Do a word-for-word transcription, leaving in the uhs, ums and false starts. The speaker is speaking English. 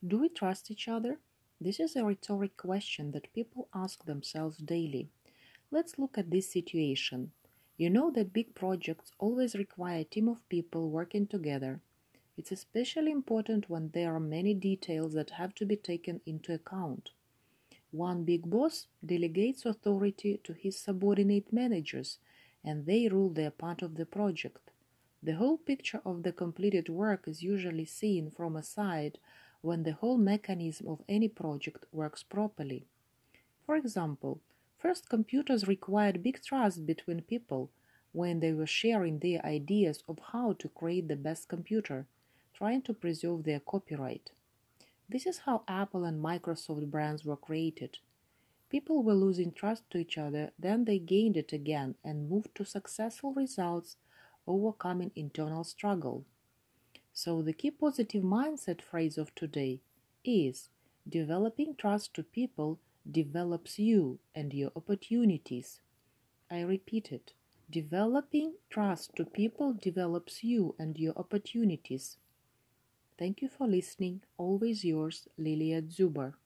Do we trust each other? This is a rhetoric question that people ask themselves daily. Let's look at this situation. You know that big projects always require a team of people working together. It's especially important when there are many details that have to be taken into account. One big boss delegates authority to his subordinate managers, and they rule their part of the project. The whole picture of the completed work is usually seen from a side when the whole mechanism of any project works properly. For example, first computers required big trust between people when they were sharing their ideas of how to create the best computer, trying to preserve their copyright. This is how Apple and Microsoft brands were created. People were losing trust to each other, then they gained it again and moved to successful results, overcoming internal struggle. So the key positive mindset phrase of today is developing trust to people develops you and your opportunities. I repeat it. Developing trust to people develops you and your opportunities. Thank you for listening. Always yours, Lilia Zuber.